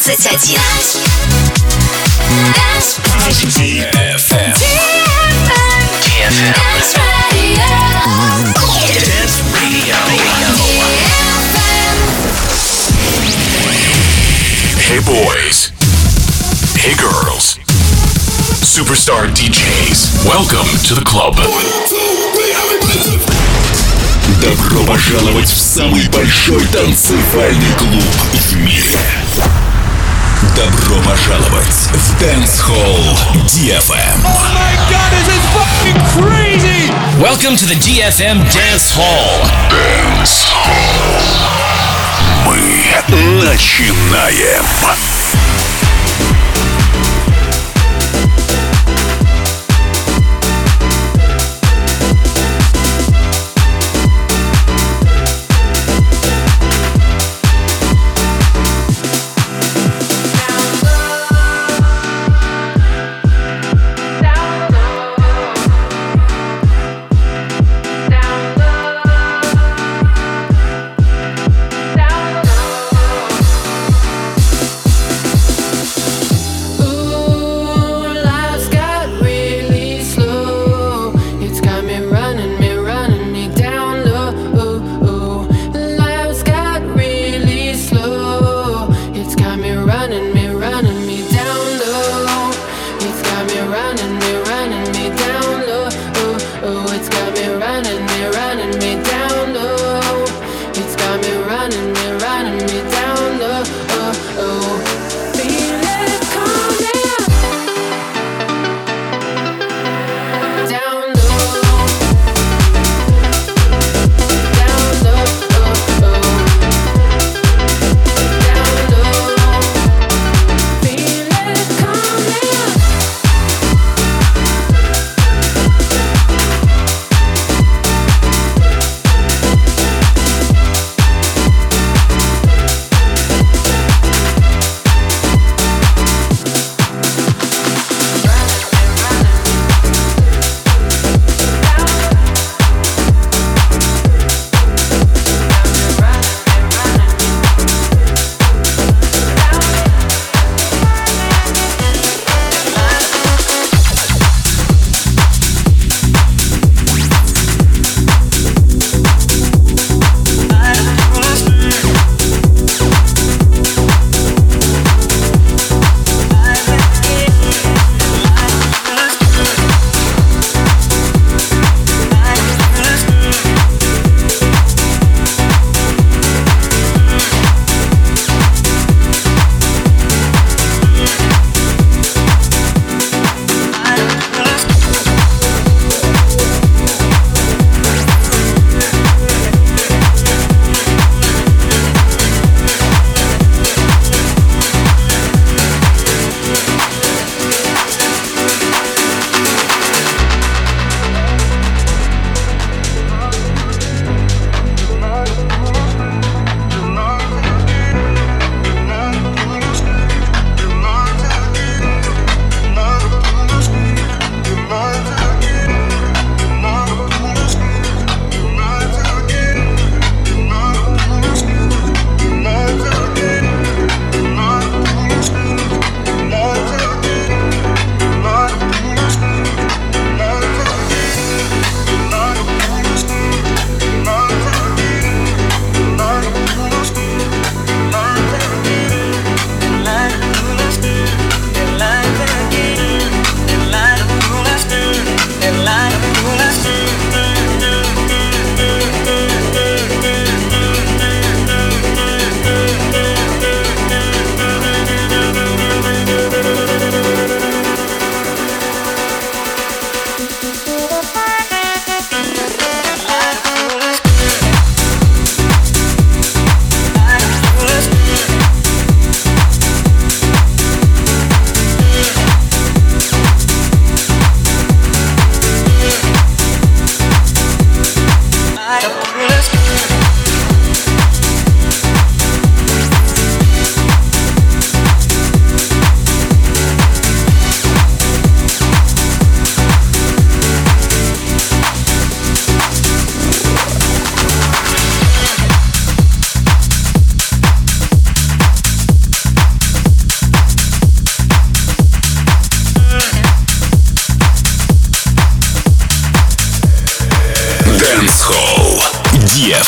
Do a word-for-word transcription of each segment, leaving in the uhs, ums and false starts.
двадцать один. ди эф эм. ди эф эм. Dance Radio. Hey boys. Hey girls. Superstar ди джейс. Welcome to the club. Добро пожаловать в самый большой танцевальный клуб в мире. Добро пожаловать в Dance Hall ди эф эм. Oh my god, this is fucking crazy! Welcome to the ди эф эм Dance Hall. Dance Hall. Мы начинаем.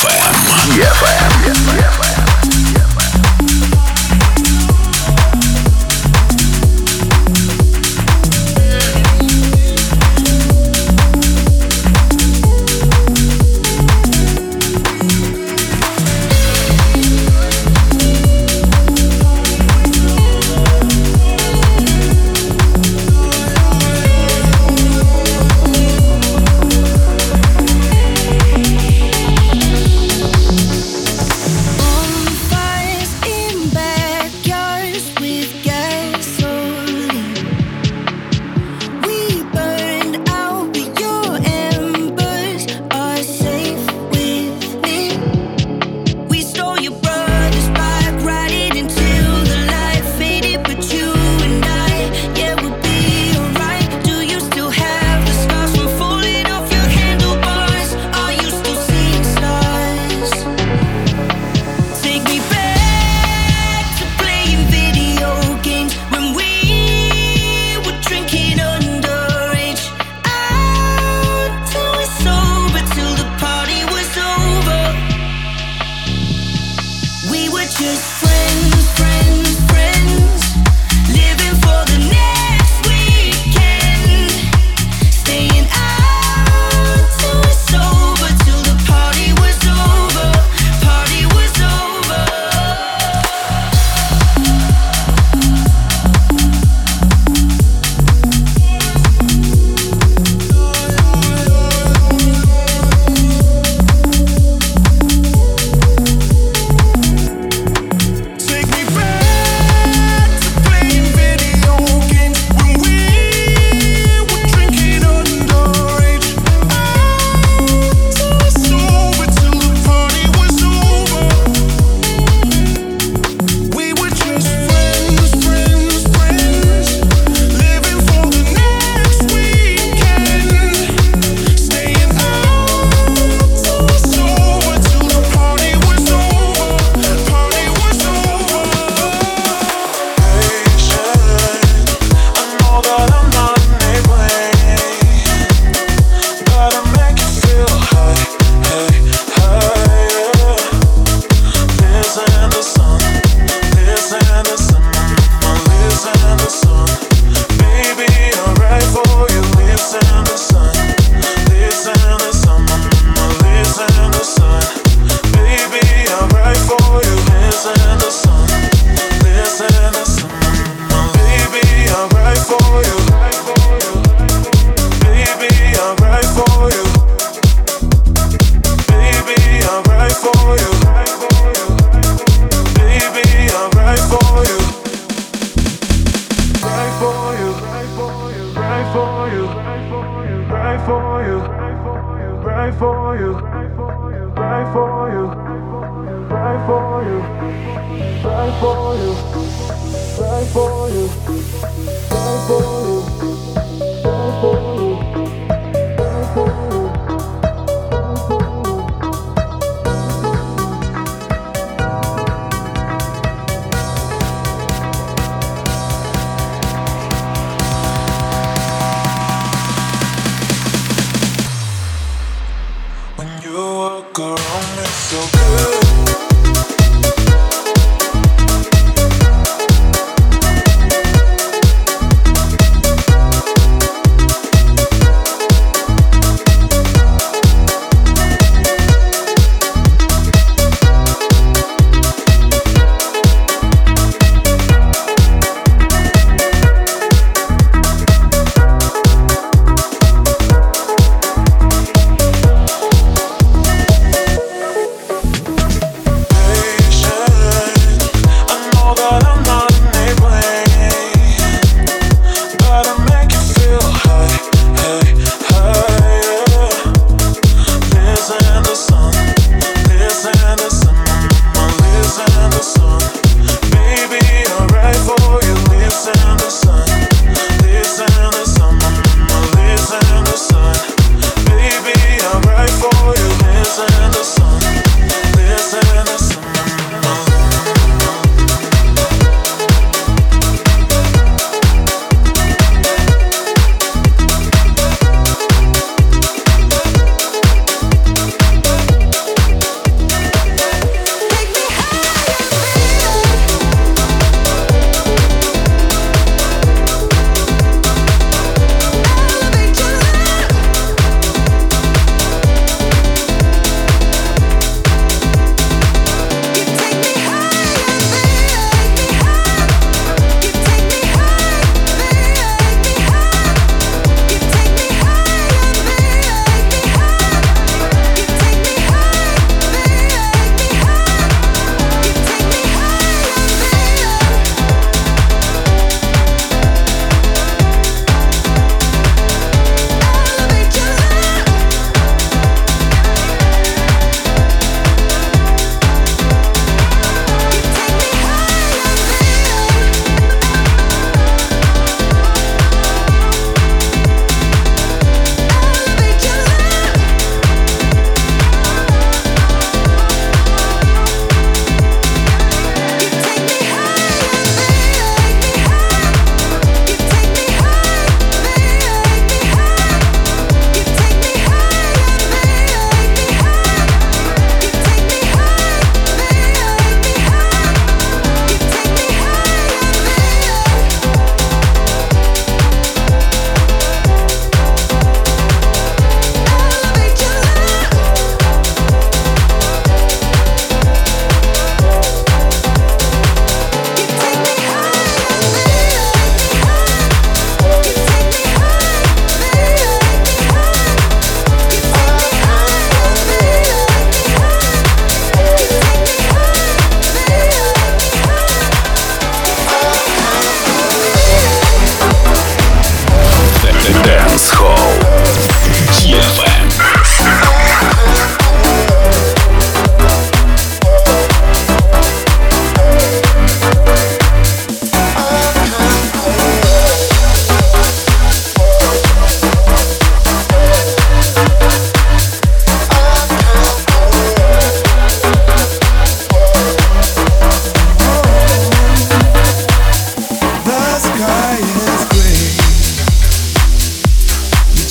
эф эм. ди эф эм.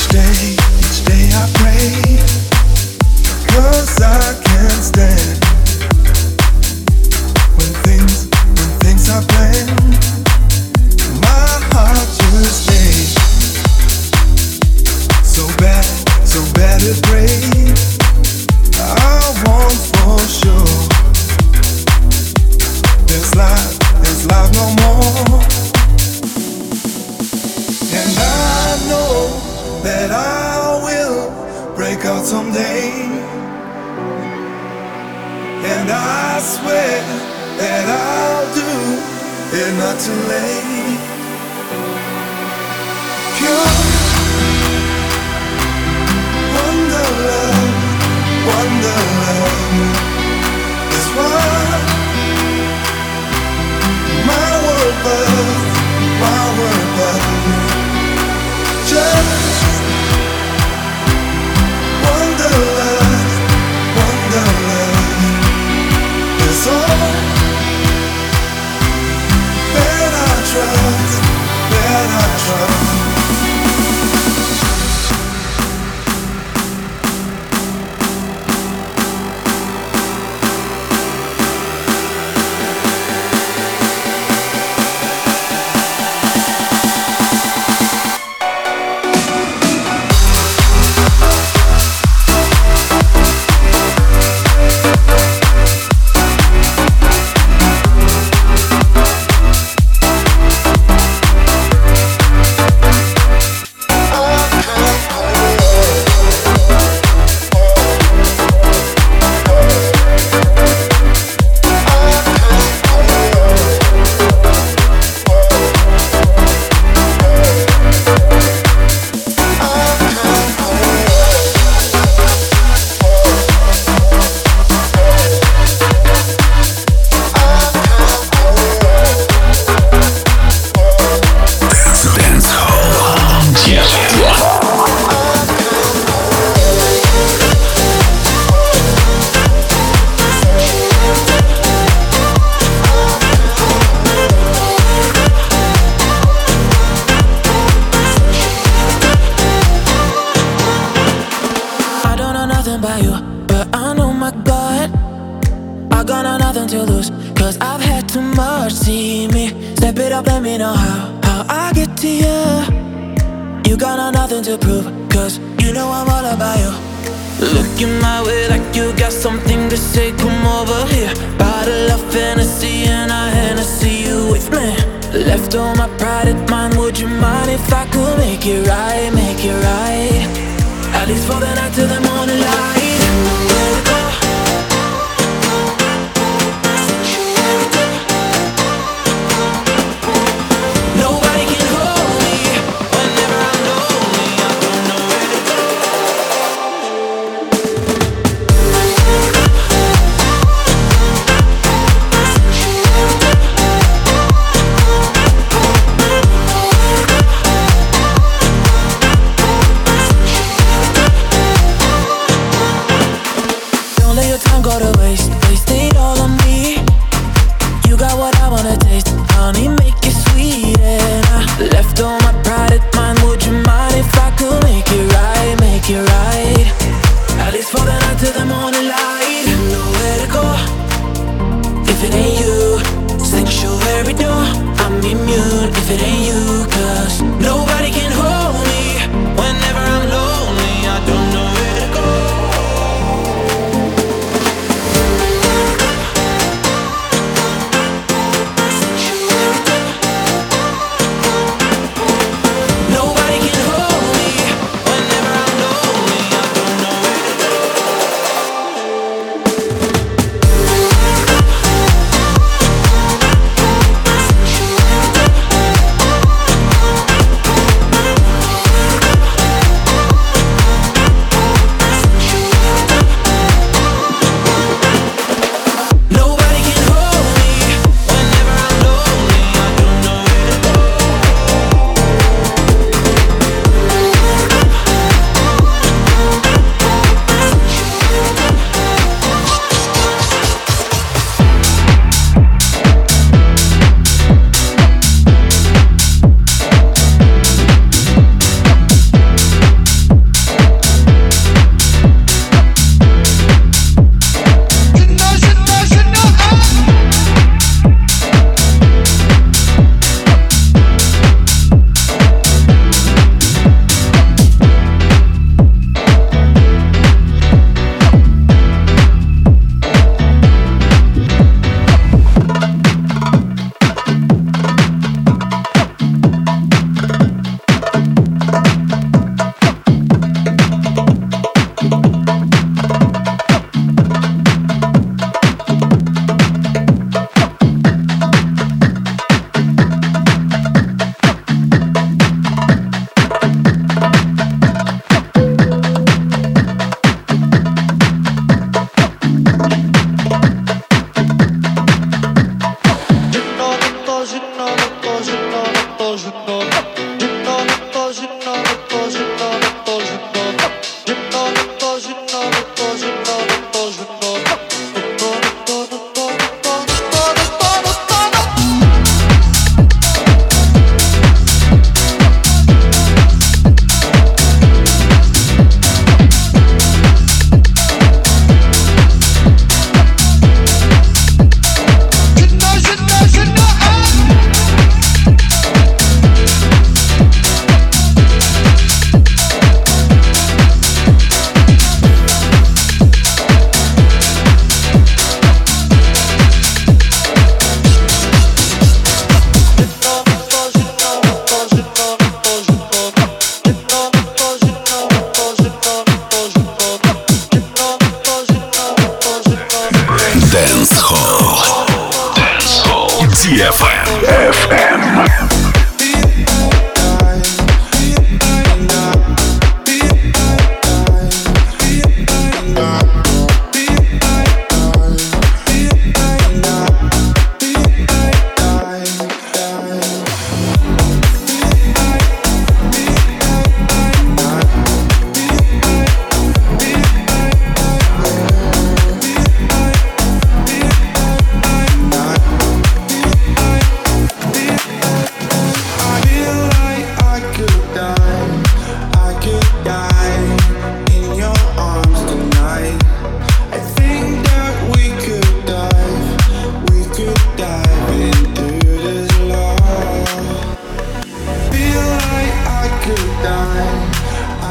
We'll be right back.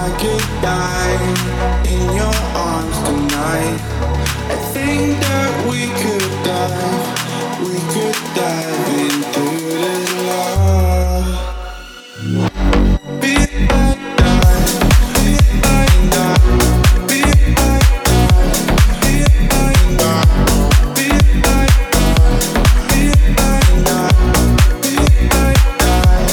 could die in your arms tonight. I think that we could dive, we could dive into this love. Be like that, be like that, be like that, be like that, be like that, be like that, be like that,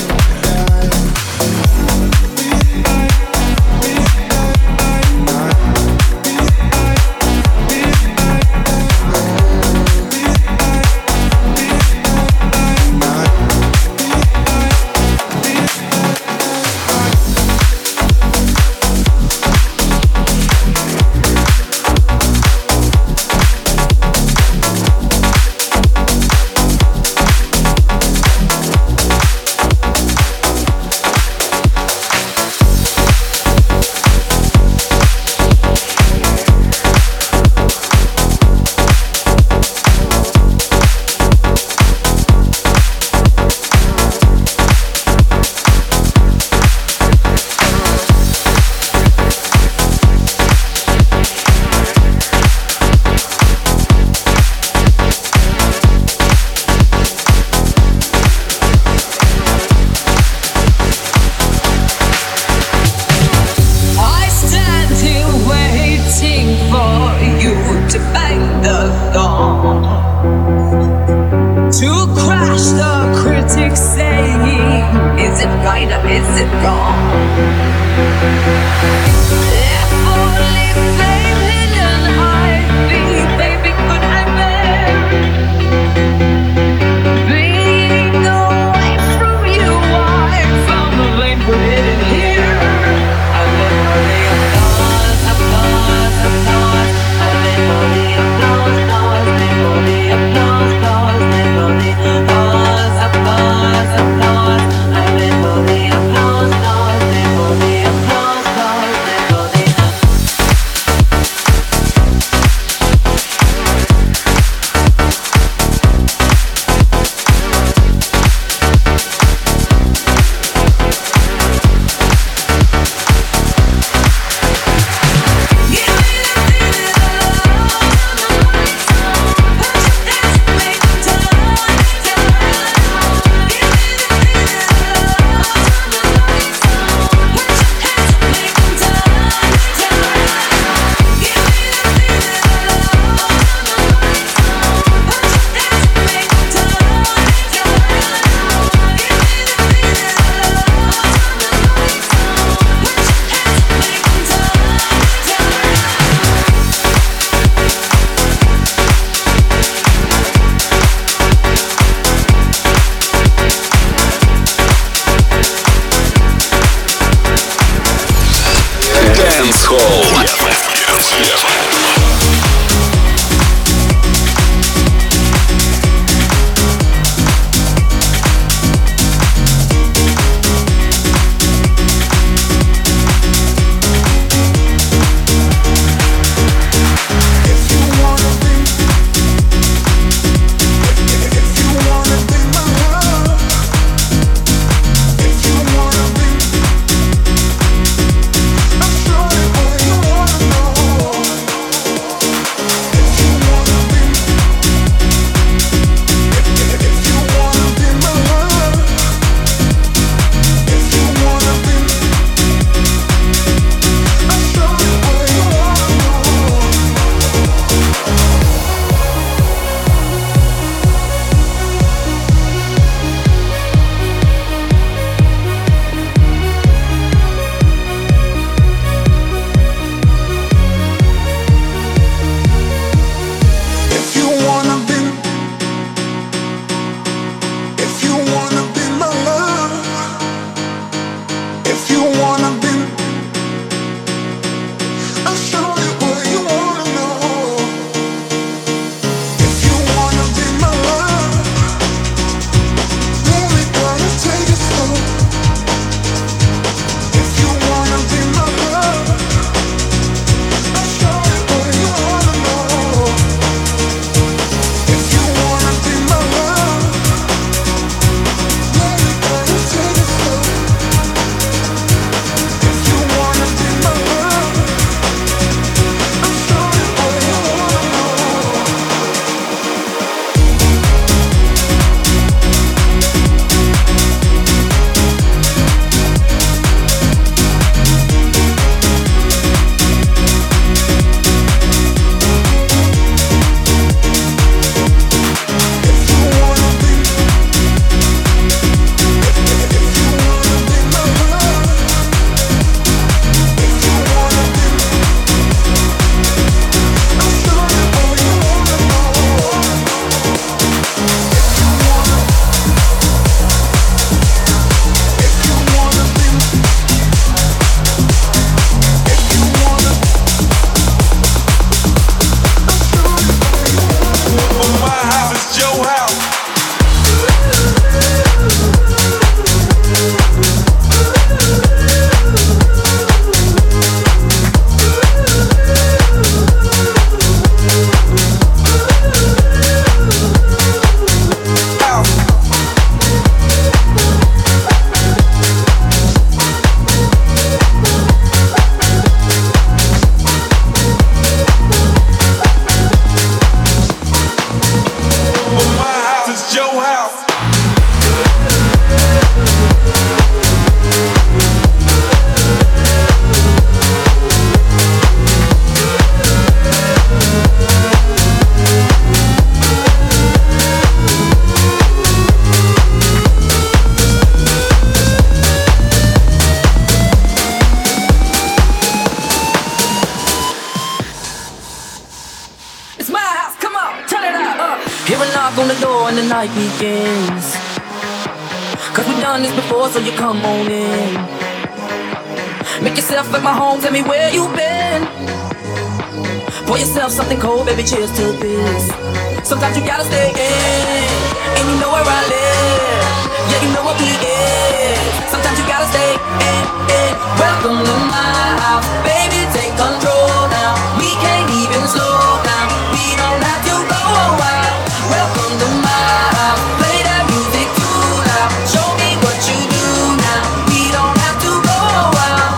knock on the door and the night begins. Cause we've done this before, so you come on in. Make yourself like my home, tell me where you been. Pour yourself something cold, baby, cheers to this. Sometimes you gotta stay in, and you know where I live. Yeah, you know what we is. Sometimes you gotta stay in, in. Welcome to my house, baby, take control now. We can't even slow down, we don't have to go wild. Welcome to my house, play that music too loud. Show me what you do now, we don't have to go wild.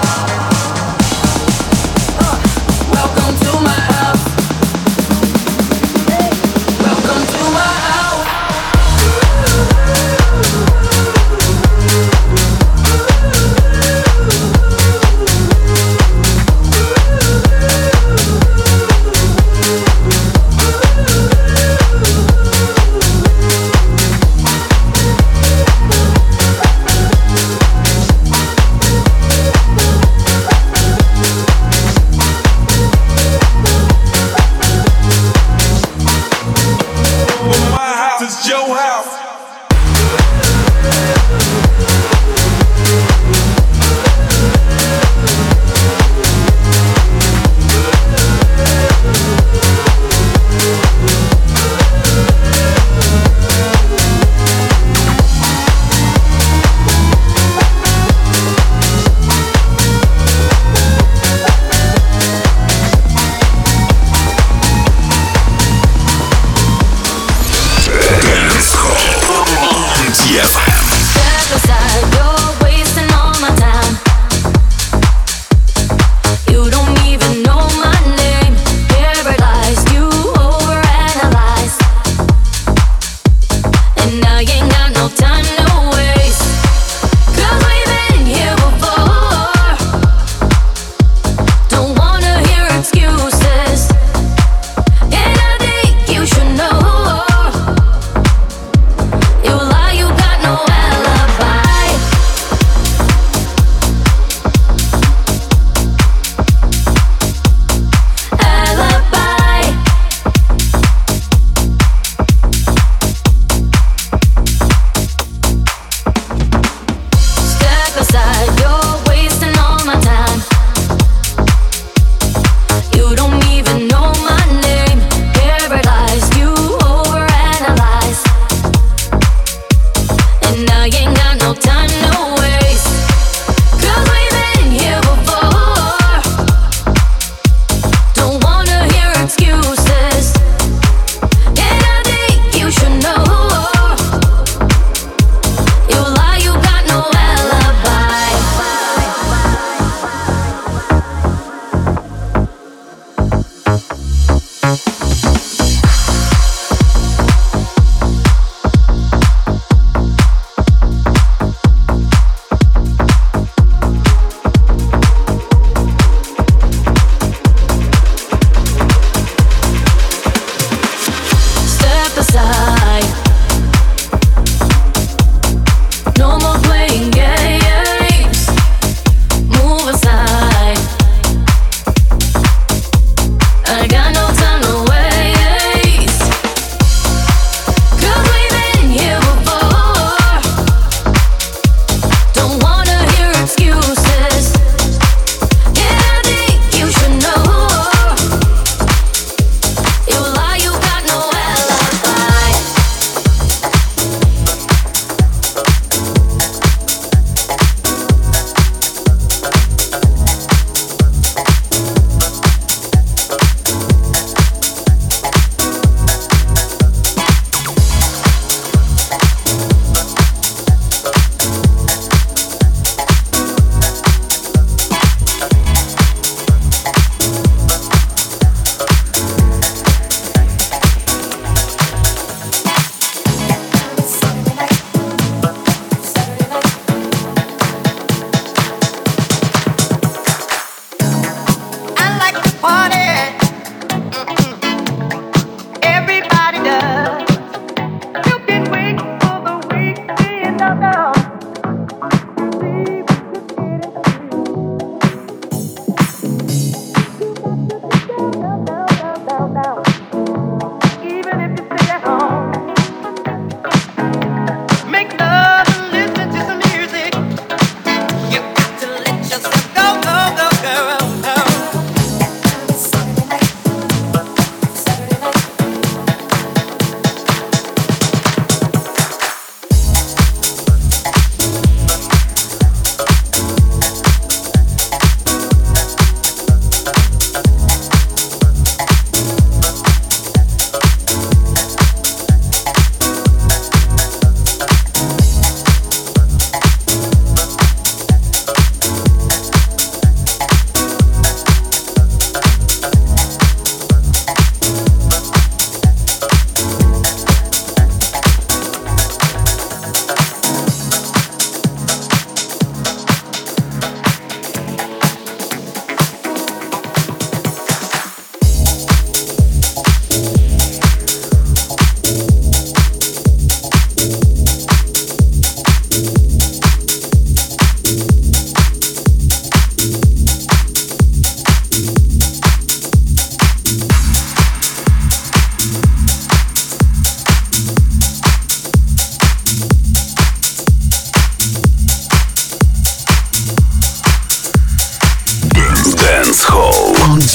uh, Welcome to my house. Welcome to my house.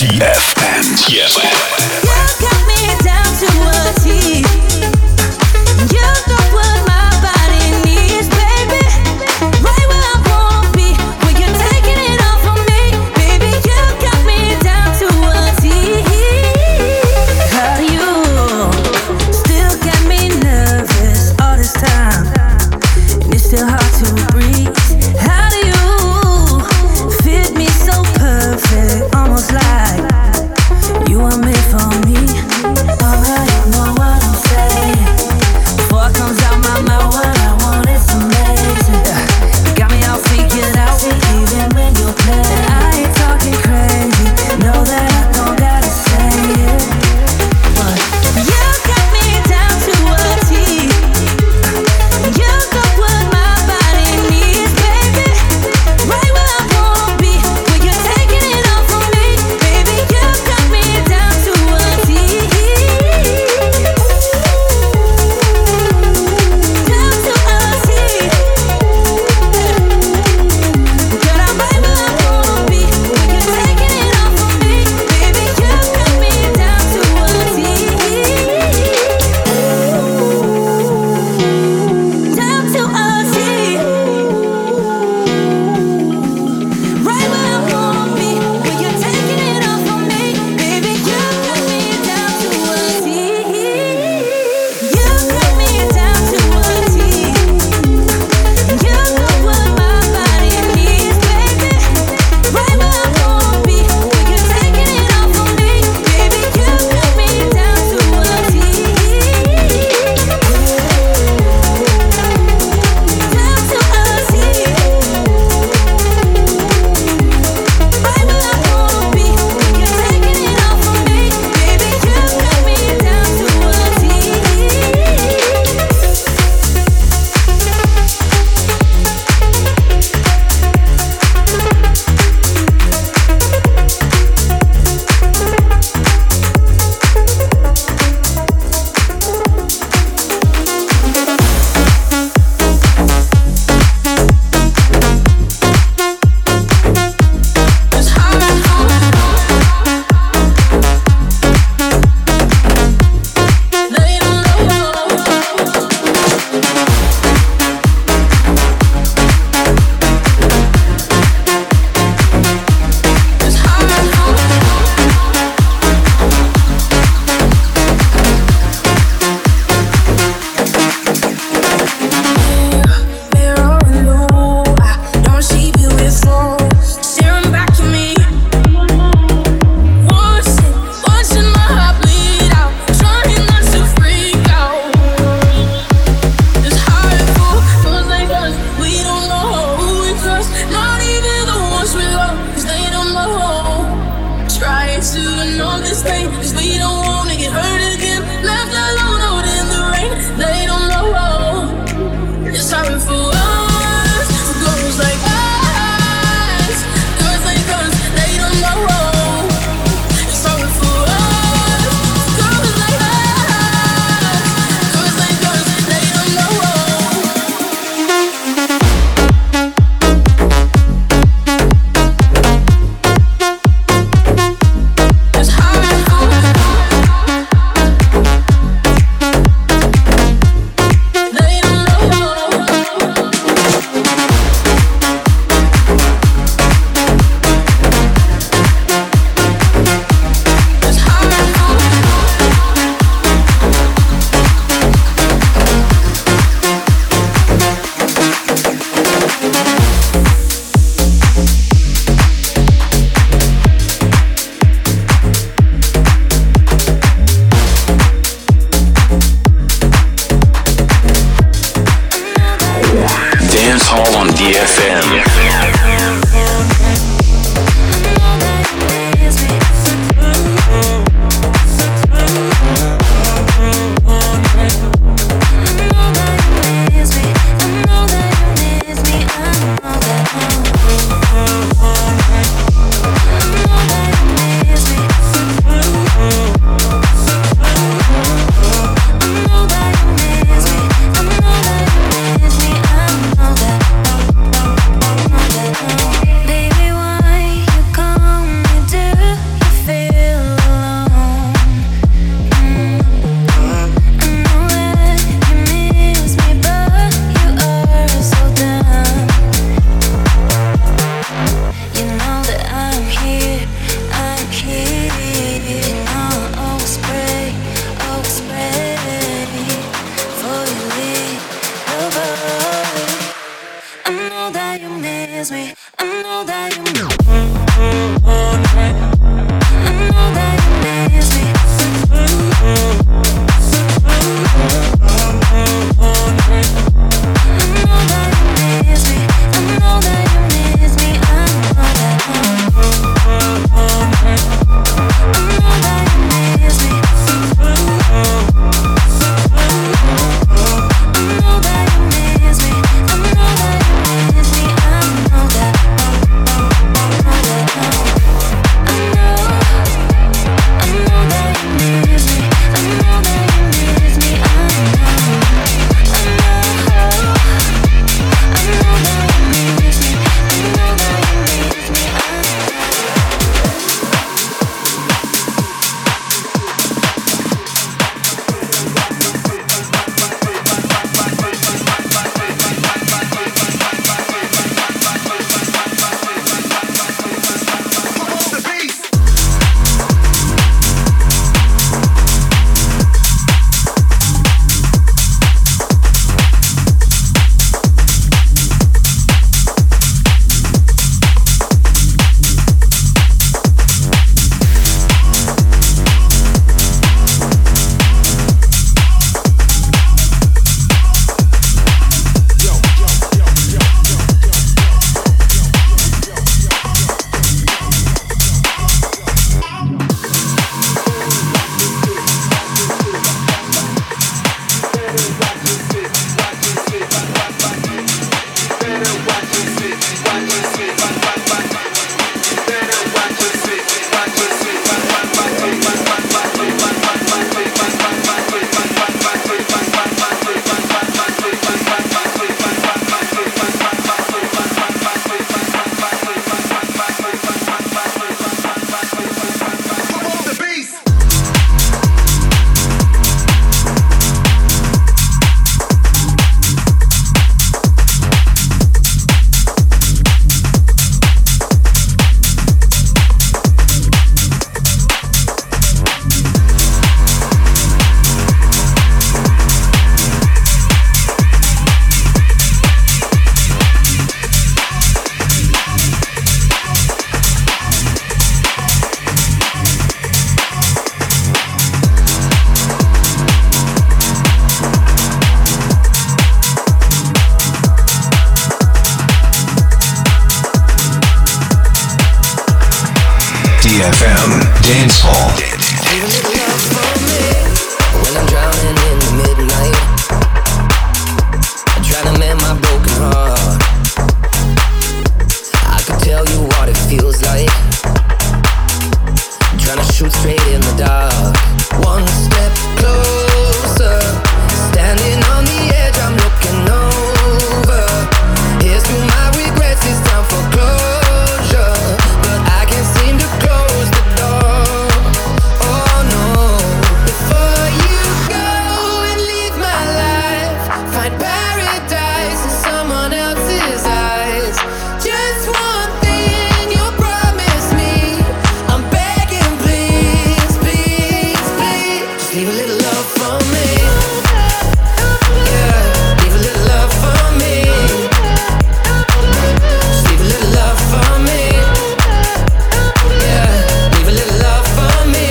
ти эф эм. ти эф эм. You got me down to a T. You know what my body needs, baby. Right where I wanna be, when you're taking it all from me, baby. You got me down to a T. How do you still get me nervous all this time? And it's still hard to breathe. How do you fit me so perfect, almost like you were made for me? Already know what I'm saying. Before it comes out my mouth, what I want is amazing. You got me all figured out, even when you're playing. I ain't talking crazy, know that I don't gotta say it, but you got me down to a T. You know what my body needs, baby. Right where I wanna be, when you're taking it all from me, baby. You got me down to a T. Down to a T. Girl, I'm right where I wanna be, when you're taking it all from me, baby. You got me down to a T. Down to a T. Right where I wanna be, when you're taking it all from me, baby. You got me down to a T. You got me down to a T. You know what my body needs, baby. Right where I wanna be, when you're taking it all from me, baby. You got me down to a T. Down to a T. Right where I wanna be, when you're taking it all from me, baby. You got me down to a T. Mirror and low, I don't see beautiful staring back at me. Watching, watching my heart bleed out, trying not to freak out. It's hard to fool, feels like us. We don't know who we trust, not even the ones we love, 'cause they don't know. Trying to ignore this pain, 'cause we don't wanna get hurt again. Left alone out in the rain, they don't know. It's hard for us, girls like us, girls like us, they don't know. It's hard for us, girls like us, girls like us, they don't know. It's hard for us. эф эм Dance Hall. Leave a little love for me when I'm drowning in the midnight. I'm trying to mend my broken heart. I could tell you what it feels like. I'm trying to shoot straight in the dark. One step closer, standing on the edge, I'm looking over. Here's to my regrets, it's time for closure, but I can't seem to close the door. Oh no, before you go and leave my life, find paradise in someone else's eyes. Just one thing you promise me, I'm begging, please, please, please, just leave a little love for me. Yeah, leave a little love for me. Just leave a little love for me. Yeah, leave a little love for me.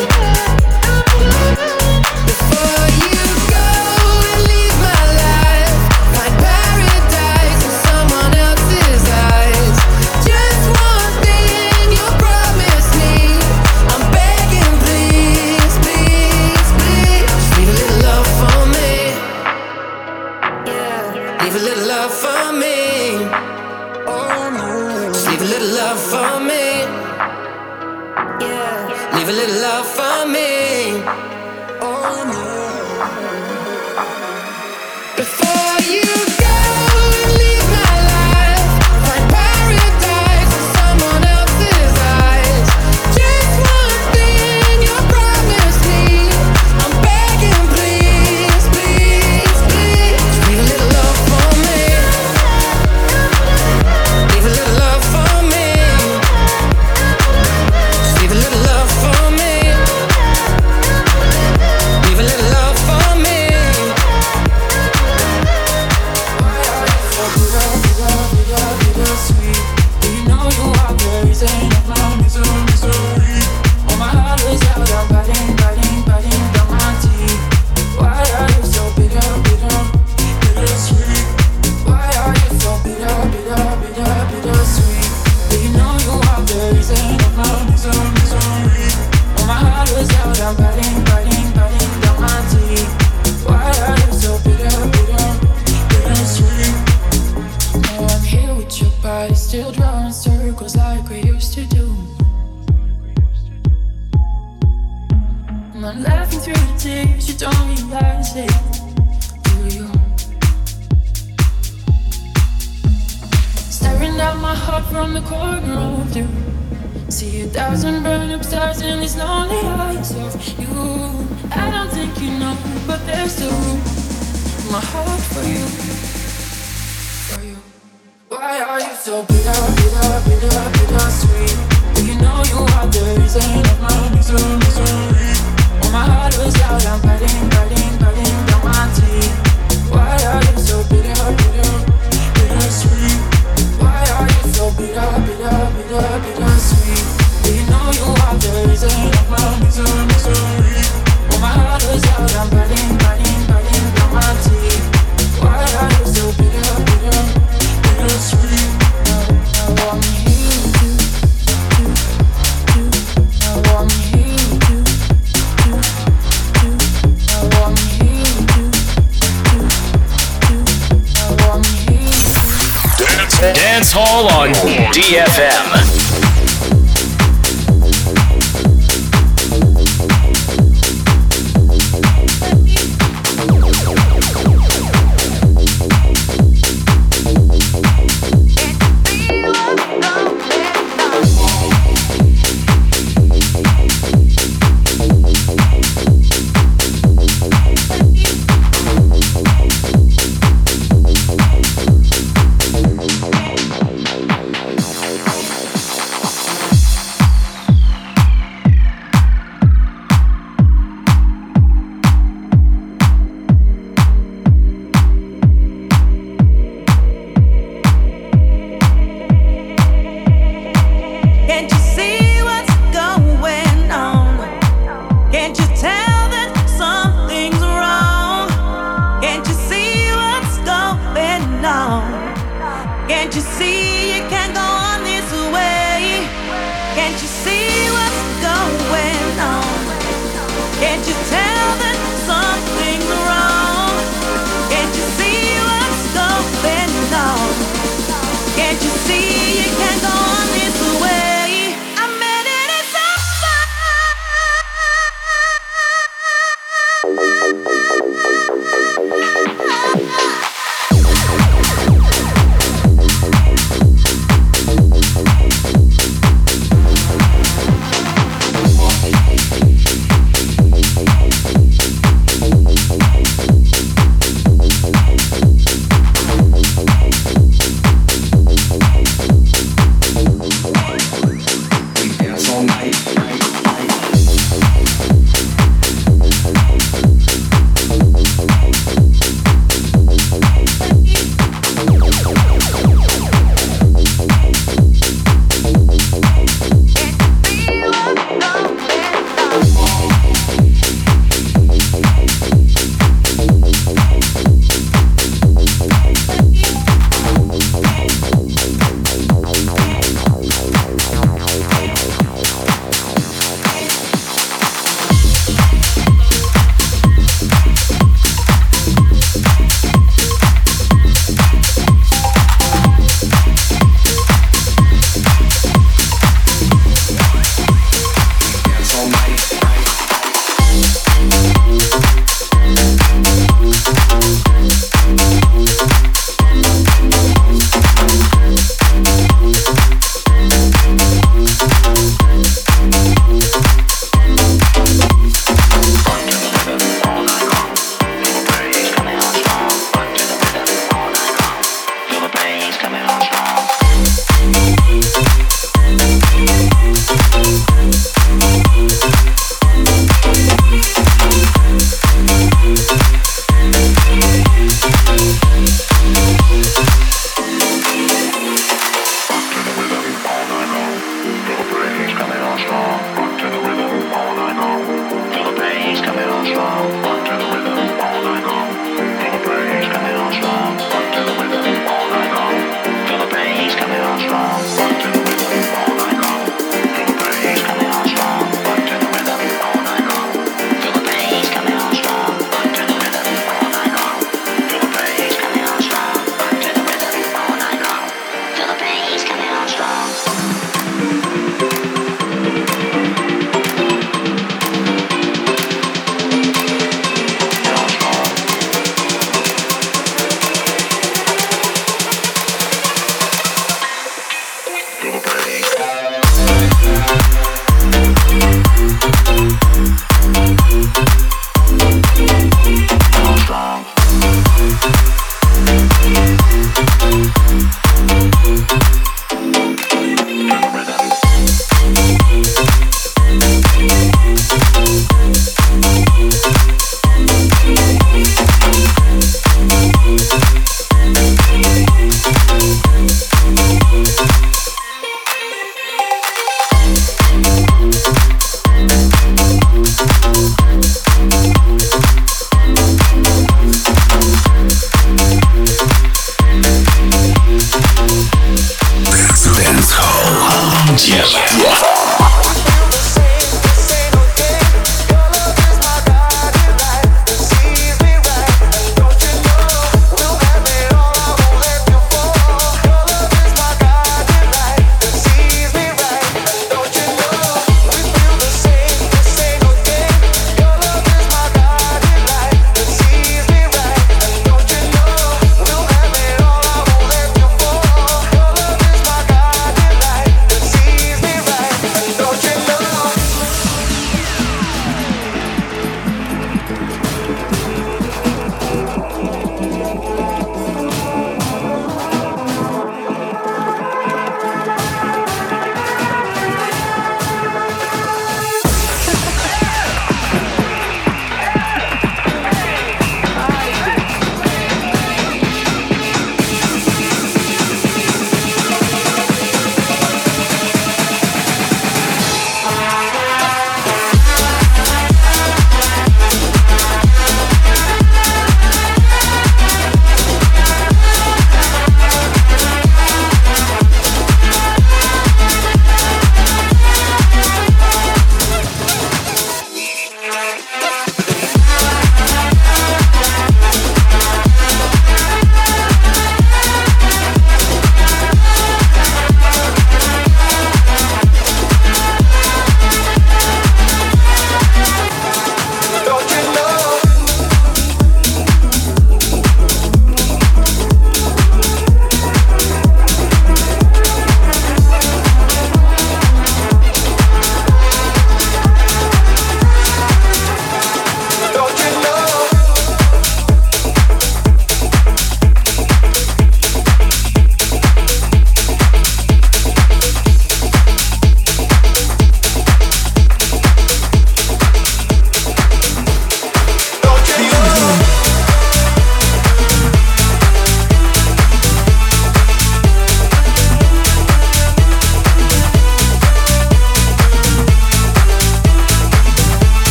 Before you go and leave my life, find paradise in someone else's eyes. Just one thing you promise me, I'm begging, please, please, please, just leave a little love for me. Yeah, leave a little love for me. Oh no, just leave a little love for me. Yeah, leave a little love for me. Oh no. Before you go and leave my life, find paradise in someone else's eyes. Just one thing you promise me, I'm begging, please, please, please, just leave a little love for me. Leave a little love for me. Just leave a little love for me. Leave a little love for me. Why are you so bitter, bitter, bitter, bitter sweet? Do you know you are the reason of my misery, misery? Oh, my heart is out, I'm biting, biting, biting down my teeth. Why are you so bitter, bitter, bitter sweet? Why are you so bitter, bitter, bitter, bitter sweet? Do you know you are the reason of my misery, misery? Oh, my heart is out, I'm biting, biting, biting down my teeth. Why are you so bitter, bitter, bitter sweet? Now I'm here with your body, still drawing circles like we used to do. And I'm laughing through the tears, you don't realize it, do you? Staring at my heart from the corner of you. See a thousand burn up stars in these lonely eyes of you. I don't think you know, but there's still room in my heart for you, for you. Why are you so bitter, bitter, bitter, bitter sweet? Do you know you are the reason of my misery, misery? Oh, my heart was out, I'm biting, biting, biting down my teeth. Why are you so bitter, bitter, bitter sweet? Why are you so bitter, bitter, bitter, bitter sweet? Do you know you are the reason of my misery, misery? Oh, my heart was out, I'm biting, biting, biting down my teeth. Why are you so bitter, bitter, bitter sweet? Now I'm here to, to, to. Now I'm here to, to, to. Now I'm here to, to, to. Now I'm here to. Dance Hall on D F M.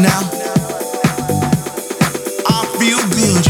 now. I feel good.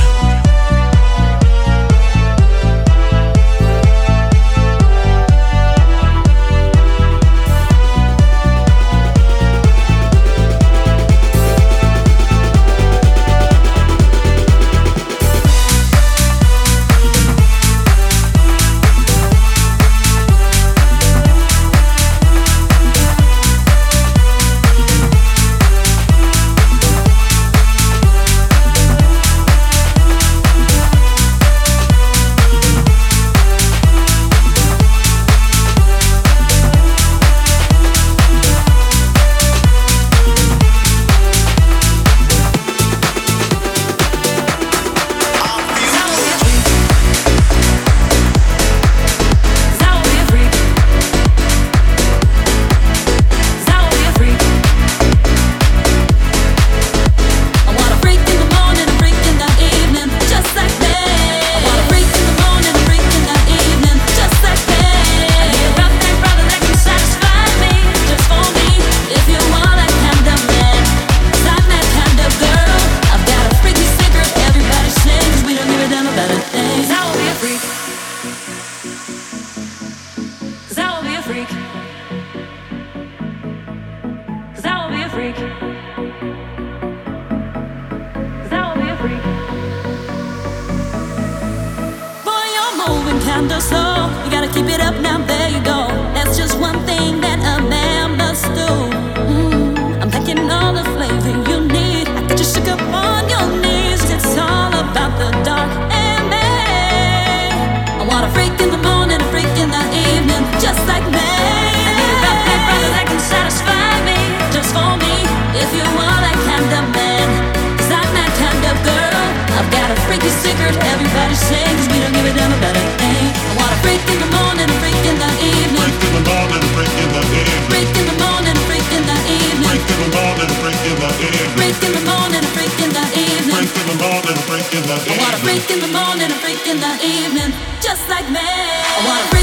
I wanna break in the morning and break in the evening, just like me. I wanna break